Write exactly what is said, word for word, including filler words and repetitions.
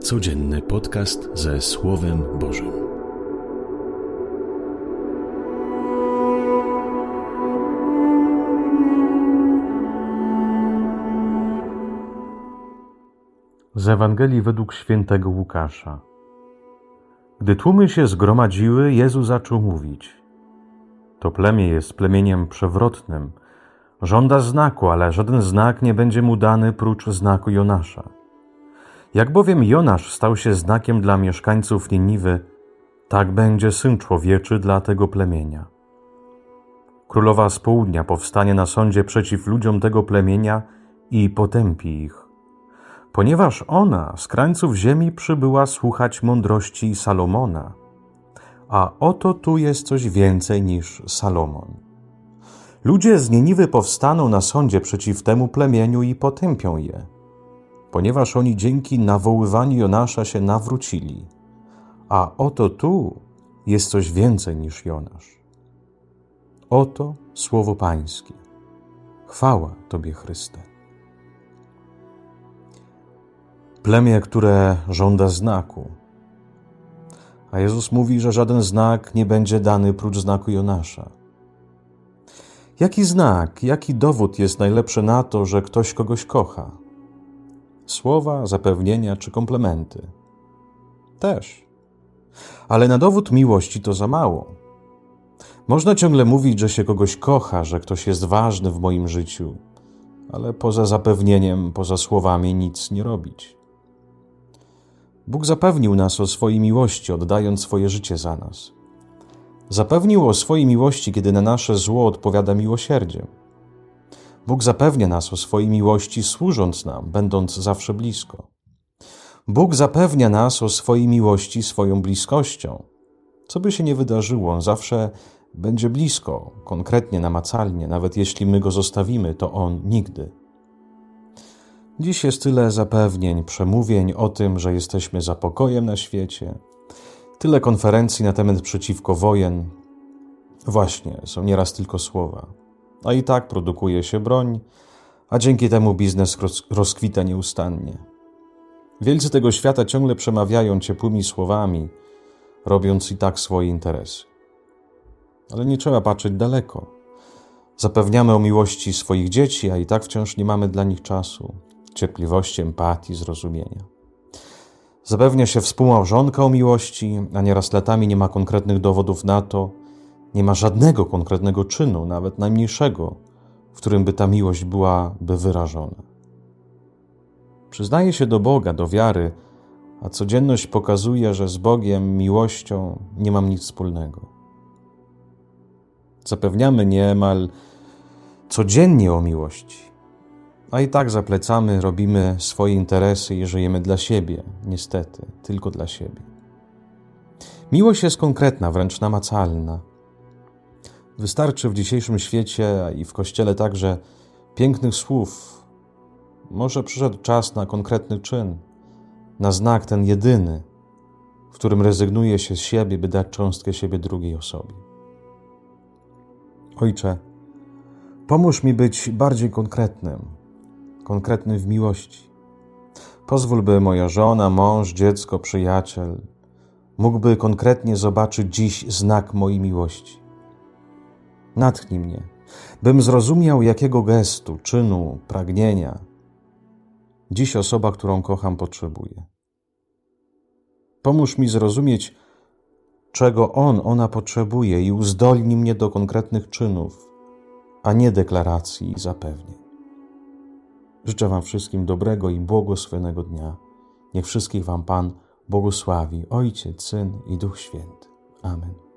Codzienny podcast ze Słowem Bożym. Z Ewangelii według świętego Łukasza. Gdy tłumy się zgromadziły, Jezus zaczął mówić: To plemię jest plemieniem przewrotnym. Żąda znaku, ale żaden znak nie będzie mu dany prócz znaku Jonasza. Jak bowiem Jonasz stał się znakiem dla mieszkańców Niniwy, tak będzie Syn Człowieczy dla tego plemienia. Królowa z południa powstanie na sądzie przeciw ludziom tego plemienia i potępi ich. Ponieważ ona z krańców ziemi przybyła słuchać mądrości Salomona. A oto tu jest coś więcej niż Salomon. Ludzie z Niniwy powstaną na sądzie przeciw temu plemieniu i potępią je, ponieważ oni dzięki nawoływaniu Jonasza się nawrócili. A oto tu jest coś więcej niż Jonasz. Oto słowo Pańskie. Chwała Tobie, Chryste. Plemię, które żąda znaku. A Jezus mówi, że żaden znak nie będzie dany prócz znaku Jonasza. Jaki znak, jaki dowód jest najlepszy na to, że ktoś kogoś kocha? Słowa, zapewnienia czy komplementy? Też. Ale na dowód miłości to za mało. Można ciągle mówić, że się kogoś kocha, że ktoś jest ważny w moim życiu, ale poza zapewnieniem, poza słowami nic nie robić. Bóg zapewnił nas o swojej miłości, oddając swoje życie za nas. Zapewnił o swojej miłości, kiedy na nasze zło odpowiada miłosierdziem. Bóg zapewnia nas o swojej miłości, służąc nam, będąc zawsze blisko. Bóg zapewnia nas o swojej miłości swoją bliskością. Co by się nie wydarzyło, On zawsze będzie blisko, konkretnie, namacalnie. Nawet jeśli my Go zostawimy, to On nigdy. Dziś jest tyle zapewnień, przemówień o tym, że jesteśmy za pokojem na świecie. Tyle konferencji na temat przeciwko wojen. Właśnie, są nieraz tylko słowa. A i tak produkuje się broń, a dzięki temu biznes roz, rozkwita nieustannie. Wielcy tego świata ciągle przemawiają ciepłymi słowami, robiąc i tak swoje interesy. Ale nie trzeba patrzeć daleko. Zapewniamy o miłości swoich dzieci, a i tak wciąż nie mamy dla nich czasu, cierpliwości, empatii, zrozumienia. Zapewnia się współmałżonka o miłości, a nieraz latami nie ma konkretnych dowodów na to, nie ma żadnego konkretnego czynu, nawet najmniejszego, w którym by ta miłość byłaby wyrażona. Przyznaję się do Boga, do wiary, a codzienność pokazuje, że z Bogiem, miłością nie mam nic wspólnego. Zapewniamy niemal codziennie o miłości, a i tak zaplecamy, robimy swoje interesy i żyjemy dla siebie, niestety, tylko dla siebie. Miłość jest konkretna, wręcz namacalna. Wystarczy w dzisiejszym świecie, a i w Kościele także, pięknych słów. Może przyszedł czas na konkretny czyn, na znak ten jedyny, w którym rezygnuje się z siebie, by dać cząstkę siebie drugiej osobie. Ojcze, pomóż mi być bardziej konkretnym, konkretnym w miłości. Pozwól, by moja żona, mąż, dziecko, przyjaciel mógłby konkretnie zobaczyć dziś znak mojej miłości. Natchnij mnie, bym zrozumiał, jakiego gestu, czynu, pragnienia dziś osoba, którą kocham, potrzebuje. Pomóż mi zrozumieć, czego on, ona potrzebuje i uzdolnij mnie do konkretnych czynów, a nie deklaracji i zapewnień. Życzę Wam wszystkim dobrego i błogosławionego dnia. Niech wszystkich Wam Pan błogosławi, Ojciec, Syn i Duch Święty. Amen.